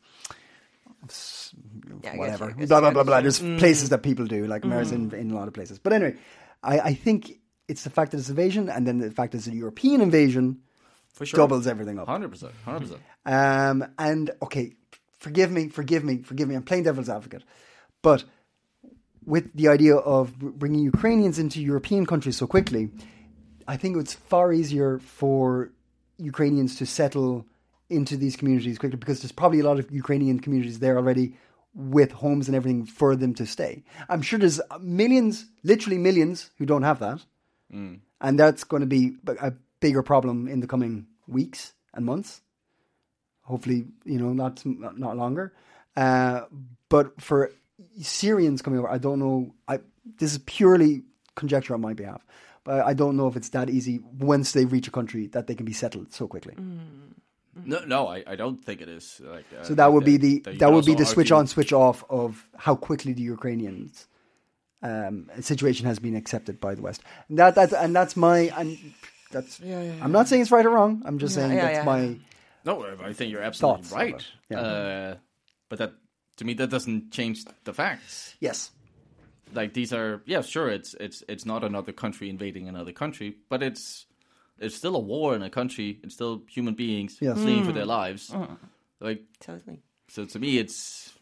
whatever, blah blah blah blah. There's places that people do, like America's in a lot of places. But anyway, I think it's the fact that it's invasion, and then the fact that it's a European invasion For sure. doubles everything up. 100%. And okay, forgive me. I'm playing devil's advocate, but with the idea of bringing Ukrainians into European countries so quickly, I think it's far easier for Ukrainians to settle into these communities quickly, because there's probably a lot of Ukrainian communities there already with homes and everything for them to stay. I'm sure there's millions, literally millions, who don't have that. And that's going to be a bigger problem in the coming weeks and months. Hopefully, not longer. But for Syrians coming over, I don't know. This is purely conjecture on my behalf. But I don't know if it's that easy once they reach a country that they can be settled so quickly. No, I don't think it is. Like, so that would be the switch on, argue... switch off of how quickly the Ukrainians situation has been accepted by the West. And that's my. I'm not saying it's right or wrong. I'm just saying that's my. No, I think you're absolutely thoughts right. Yeah. But that, to me, that doesn't change the facts. Yes. Like, these are, sure, it's not another country invading another country, but it's still a war in a country. It's still human beings fleeing for their lives. Like, Totally. So to me, it's,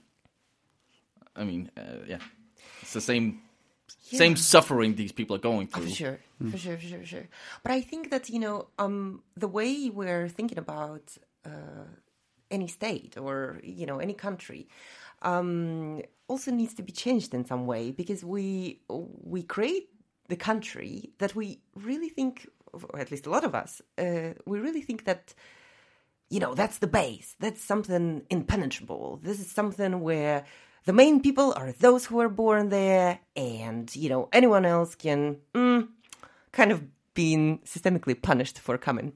it's the same suffering these people are going through. For sure. But I think that, the way we're thinking about any state or, any country also needs to be changed in some way, because we create the country that we really think, or at least a lot of us, we really think that, that's the base. That's something impenetrable. This is something where the main people are those who are born there, and, anyone else can kind of being systemically punished for coming.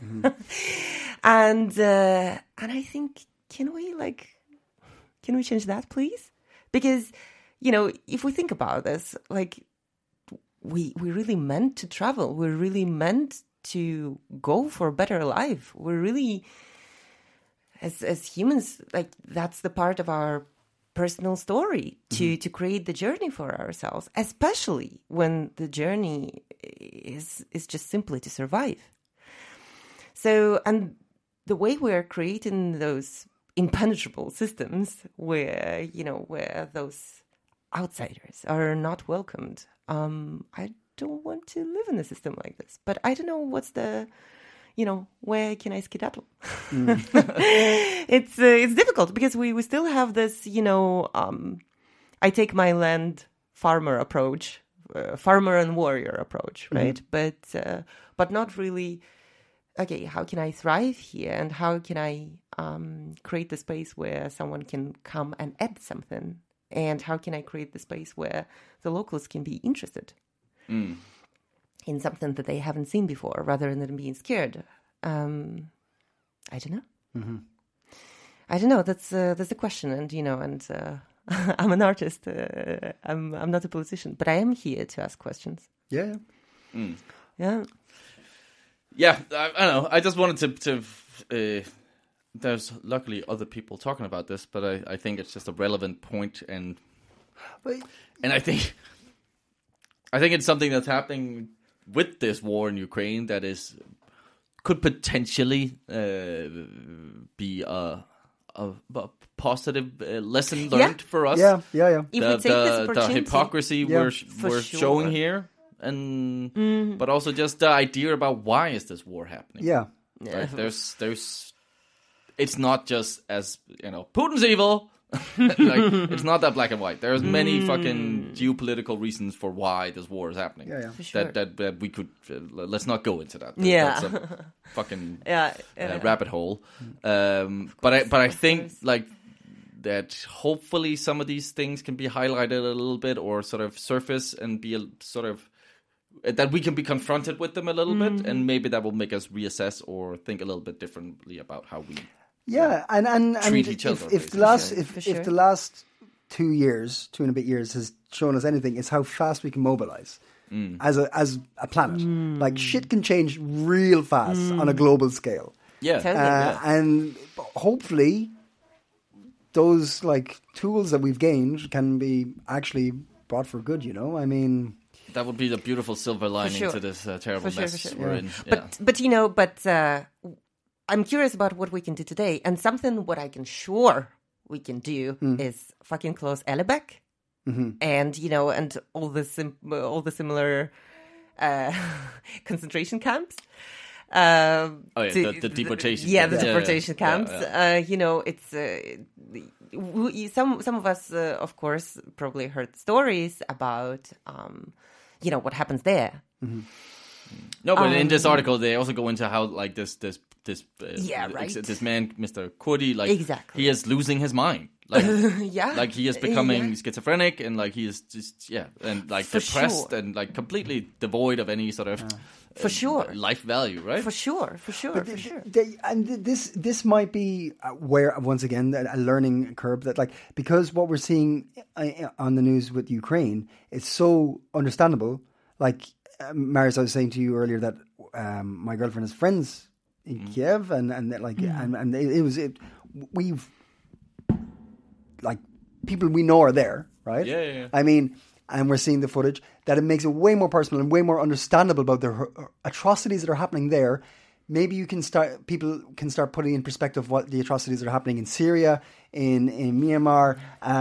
And I think, can we change that, please? Because, if we think about this, like, we really meant to travel. We're really meant to go for a better life. We're really, as humans, like, that's the part of our personal story, to create the journey for ourselves, especially when the journey is just simply to survive. So, and the way we're creating those impenetrable systems where those outsiders are not welcomed, I don't want to live in a system like this. But I don't know what's the, where can I skedaddle? It's difficult, because we still have this, I take my land farmer approach, farmer and warrior approach, right? But not really. Okay, how can I thrive here, and how can I create the space where someone can come and add something, and how can I create the space where the locals can be interested in something that they haven't seen before, rather than being scared. I don't know. I don't know. That's the question, and I'm an artist. I'm not a politician, but I am here to ask questions. Yeah. Yeah. Yeah, I don't know. I just wanted to there's luckily other people talking about this, but I think it's just a relevant point, and I think it's something that's happening with this war in Ukraine that could potentially be a positive lesson learned for us. Yeah. If we take this opportunity, the hypocrisy we're sure. showing here. And but also just the idea about why is this war happening? Yeah. Right? There's it's not just as Putin's evil Like, it's not that black and white. There's many fucking geopolitical reasons for why this war is happening. Yeah. For sure. That we could let's not go into that. Yeah. That's a fucking Yeah. rabbit hole. But I think like that. Hopefully, some of these things can be highlighted a little bit, or sort of surface and be a sort of. That we can be confronted with them a little bit, and maybe that will make us reassess or think a little bit differently about how we. Yeah, and treat each other, if the basically. if the last 2 years, 2.5 years has shown us anything, it's how fast we can mobilize as a planet. Like shit can change real fast on a global scale. Yeah, and hopefully those like tools that we've gained can be actually brought for good. You know, I mean. That would be the beautiful silver lining to this terrible mess we're in. But I'm curious about what we can do today, and something what I can sure we can do is fucking close Ellebæk, and and all the similar concentration camps. The deportation. Yeah, the deportation camps. Yeah. It's some of us, of course, probably heard stories about. What happens there? No, but in this article, they also go into how like this man, Mr. Kurdi, like exactly. he is losing his mind. Like, like he is becoming schizophrenic, and like he is just and like for depressed sure. and like completely devoid of any sort of for sure life value, right? For sure. And this might be where once again a learning curve that like because what we're seeing on the news with Ukraine is so understandable. Like Marius, I was saying to you earlier that my girlfriend has friends in Kiev, and we've like people we know are there, right? Yeah. I mean. And we're seeing the footage, that it makes it way more personal and way more understandable about the atrocities that are happening there. Maybe people can start putting in perspective what the atrocities that are happening in Syria, in Myanmar,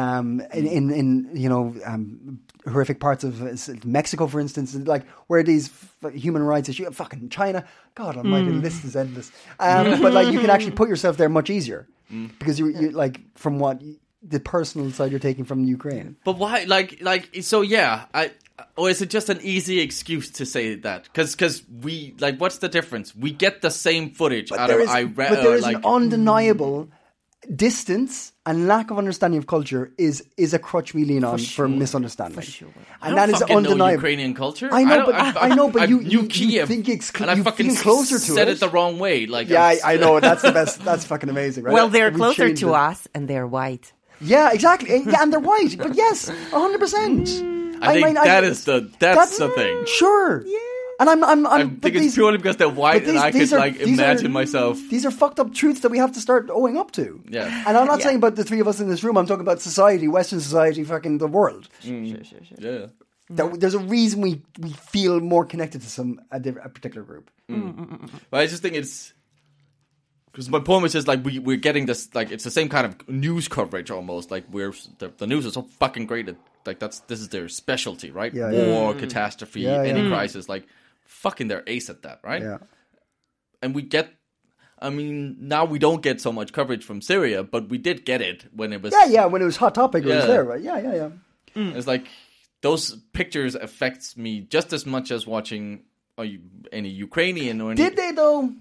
in horrific parts of Mexico, for instance, like where these human rights issues, fucking China, God almighty, the list is endless. But like you can actually put yourself there much easier because you like from what. The personal side you're taking from Ukraine. But why, so yeah, or is it just an easy excuse to say that? Because we, like, what's the difference? We get the same footage out of Iran. But there is an undeniable distance and lack of understanding of culture is a crutch we lean on for misunderstanding. For sure. And that is undeniable. Know Ukrainian culture. I know, but you Kiev, think and I fucking closer to said it the wrong way. Like, yeah, I know that's the best. That's fucking amazing, right? Well, they're closer to us, and they're white. Yeah, exactly. And they're white. But yes, 100%. I think that's the thing. Sure. Yeah. And I think it's purely because they're white, and I could imagine myself. These are fucked up truths that we have to start owing up to. Yeah. And I'm not saying about the three of us in this room. I'm talking about society, Western society, fucking the world. Sure. Yeah. There's a reason we feel more connected to a particular group. But I just think it's. Because my point was just like we're getting this, like it's the same kind of news coverage almost, like the news is so fucking great that like this is their specialty, right? War, catastrophe, any crisis, like fucking they're ace at that, right? Yeah. And now we don't get so much coverage from Syria, but we did get it when it was when it was hot topic, it was there, right? Yeah. It's like those pictures affects me just as much as watching any Ukrainian or any. Did they though?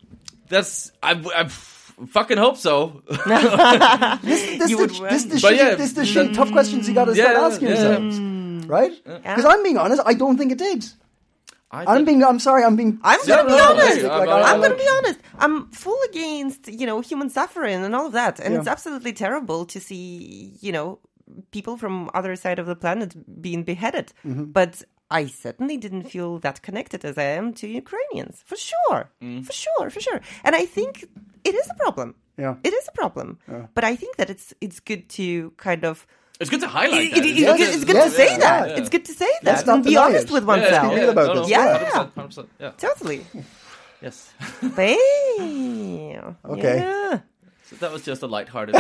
I fucking hope so. This is the tough questions you got to start asking yourselves, right? Because I'm being honest, I don't think it did. I'm going to be honest. I'm going to be honest. I'm full against human suffering and all of that, and it's absolutely terrible to see people from other side of the planet being beheaded, but. I certainly didn't feel that connected as I am to Ukrainians, for sure. For sure. And I think it is a problem. Yeah. It is a problem. Yeah. But I think that it's good to kind of... It's good to highlight that. It's good to say that. It's good to say that and be honest with oneself. Be real about this. Yeah. 100%. Yeah. Totally. Yes. Bam. Okay. Yeah. So that was just a lighthearted.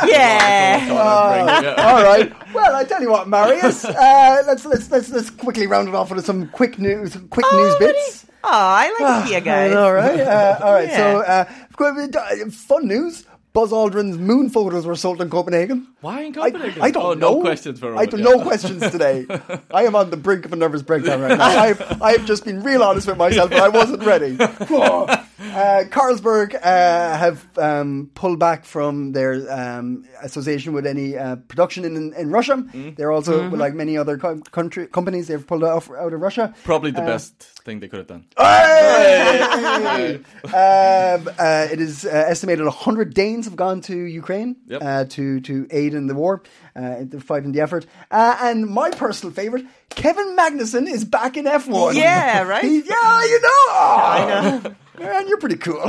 All right. Well, I tell you what, Marius. Let's quickly round it off with some quick news bits. Oh, I like it here, guys. All right. All right. So, fun news. Buzz Aldrin's moon photos were sold in Copenhagen. Why in Copenhagen? I don't know. No questions for I don't know questions today. I am on the brink of a nervous breakdown right now. I've just been real honest with myself, but I wasn't ready. Carlsberg have pulled back from their association with any production in Russia. They're also, like many other companies, they've pulled out of Russia. Probably the best thing they could have done. It is estimated 100 Danes have gone to Ukraine to aid in the war, to fight in the effort. And my personal favourite, Kevin Magnussen is back in F1. Yeah, right? I know. Man, you're pretty cool. All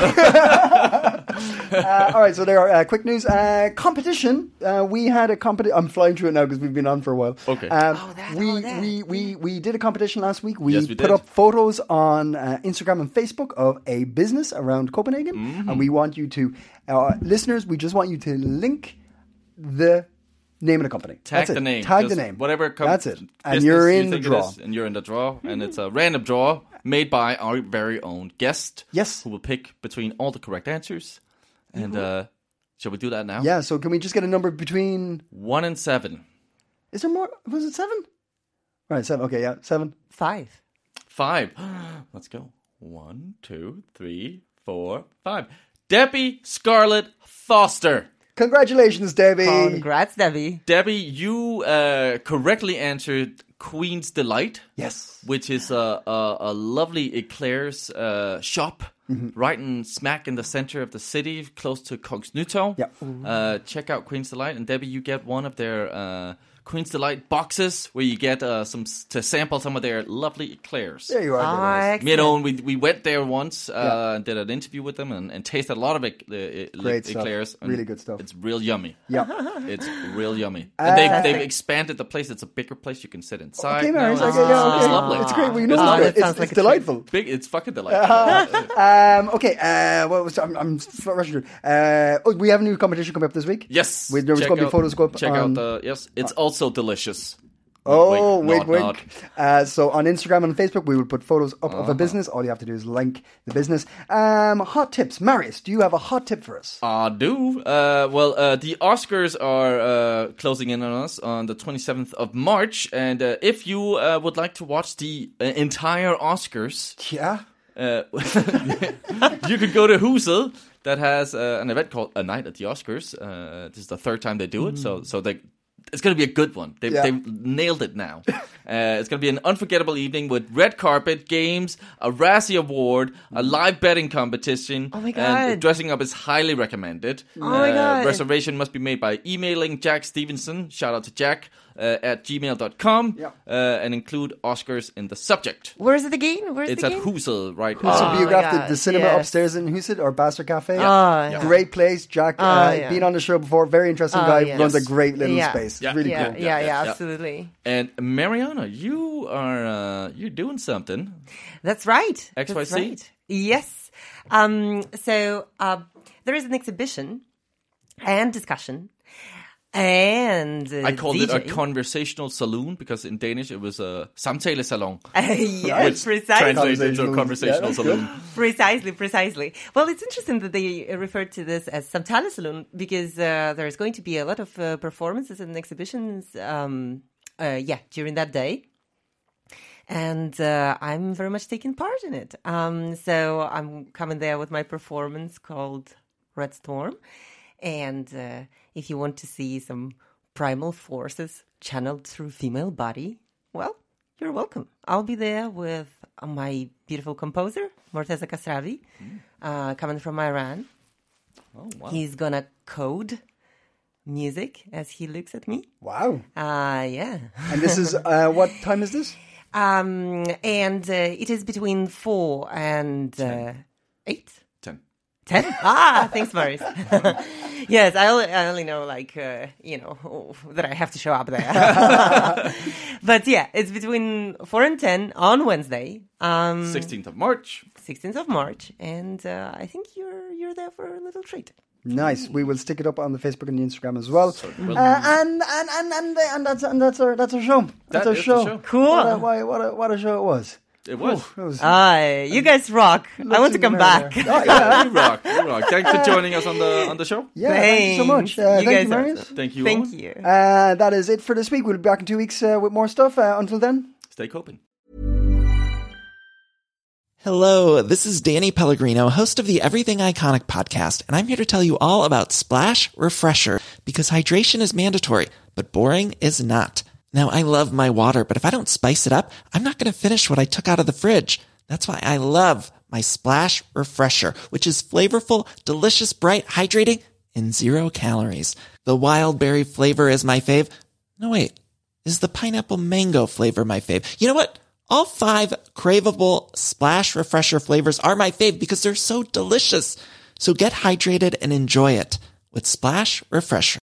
right, so there are quick news. Competition. We had a competition. I'm flying through it now because we've been on for a while. Okay. We did a competition last week. We Yes, we put did. up photos on Instagram and Facebook of a business around Copenhagen. And we want you to, listeners, we just want you to link the name of the company. Tag That's it. the name. Tag Just the name. Whatever That's it. And business you're you in the think it draw. is, and you're in the draw. And it's a random draw made by our very own guest. Yes. Who will pick between all the correct answers. And shall we do that now? Yeah, so can we just get a number between... 1 and 7. Is there more? Was it 7? Right, 7. Okay, yeah, 7. 5. 5. Let's go. 1, 2, 3, 4, 5. Debbie Scarlett Foster. Congratulations, Debbie. Congrats, Debbie. Debbie, you correctly answered Queen's Delight. Yes. Which is a lovely eclairs shop right in smack in the center of the city, close to Kongens Nytorv. Yeah. Check out Queen's Delight, and Debbie, you get one of their Queen's Delight boxes where you get to sample some of their lovely eclairs. There you are. Excellent. You know, we went there once and did an interview with them and tasted a lot of Great stuff. eclairs. And Really good stuff. It's real yummy. Yeah. It's real yummy. And they've expanded the place. It's a bigger place. You can sit inside. Okay, Marius. now. Okay, yeah, okay. It's lovely. It's great. We know Oh, it's that sounds like it's a delightful. It's fucking delightful. Okay, what was I'm rushing through. We have a new competition coming up this week. Yes. There's going to be photos go up. Check out the yes. It's also delicious. Oh, Wink, wink, nod, wink. So on Instagram and Facebook, we will put photos up of a business. All you have to do is link the business. Hot tips. Marius, do you have a hot tip for us? I do. The Oscars are closing in on us on the 27th of March. And if you would like to watch the entire Oscars, Yeah. you could go to Huset that has an event called A Night at the Oscars. This is the third time they do it. So it's going to be a good one. They've nailed it now. It's going to be an unforgettable evening with red carpet, games, a Razzie Award, a live betting competition. Oh my God. And dressing up is highly recommended. Oh my God. Reservation must be made by emailing Jack Stevenson, shout out to Jack, at gmail.com, and include Oscars in the subject. Where is it again? It's at Huset, right? So Oh Biograph, my God, the cinema yes. upstairs in Huset or Bastard Cafe. Yeah. Great place. Jack, yeah. been on the show before. Very interesting guy. yes. Runs a great little Yeah. space. Yeah. It's really Yeah, cool. yeah, absolutely. And Mariana, you are you're doing something. That's right. XYZ? That's right. Yes. So there is an exhibition and discussion. And I called it a DJ. conversational saloon because in Danish it was a samtalesalon. Yes, Which precisely. translates into a Yeah, conversational that's saloon. Precisely. Well, it's interesting that they referred to this as Samtale Saloon because there's going to be a lot of performances and exhibitions during that day. And I'm very much taking part in it. So I'm coming there with my performance called Red Storm. And if you want to see some primal forces channeled through female body, well, you're welcome. I'll be there with my beautiful composer, Morteza Kasravi, coming from Iran. Oh, wow. He's gonna code music as he looks at me. Wow. Yeah. And this is, what time is this? And it is between 4 and 8. 10? Thanks, Maurice. Yes, I only know, that I have to show up there. But yeah, it's between 4 and 10 on Wednesday. 16th of March. 16th of March. And I think you're there for a little treat. Nice. We will stick it up on the Facebook and the Instagram as well. Well, And that's our show. That's That our is the show. show. Cool. What a show it was. It was. You guys rock. I want to come back. You rock. Thanks for joining us on the show. Yeah, thank you so much. Thank you, Marius. Thank you. Thank you. That is it for this week. We'll be back in 2 weeks with more stuff. Until then, stay coping. Hello, this is Danny Pellegrino, host of the Everything Iconic podcast, and I'm here to tell you all about Splash Refresher, because hydration is mandatory, but boring is not. Now, I love my water, but if I don't spice it up, I'm not going to finish what I took out of the fridge. That's why I love my Splash Refresher, which is flavorful, delicious, bright, hydrating, and 0 calories. The wild berry flavor is my fave. No, wait. Is the pineapple mango flavor my fave? You know what? All 5 craveable Splash Refresher flavors are my fave because they're so delicious. So get hydrated and enjoy it with Splash Refresher.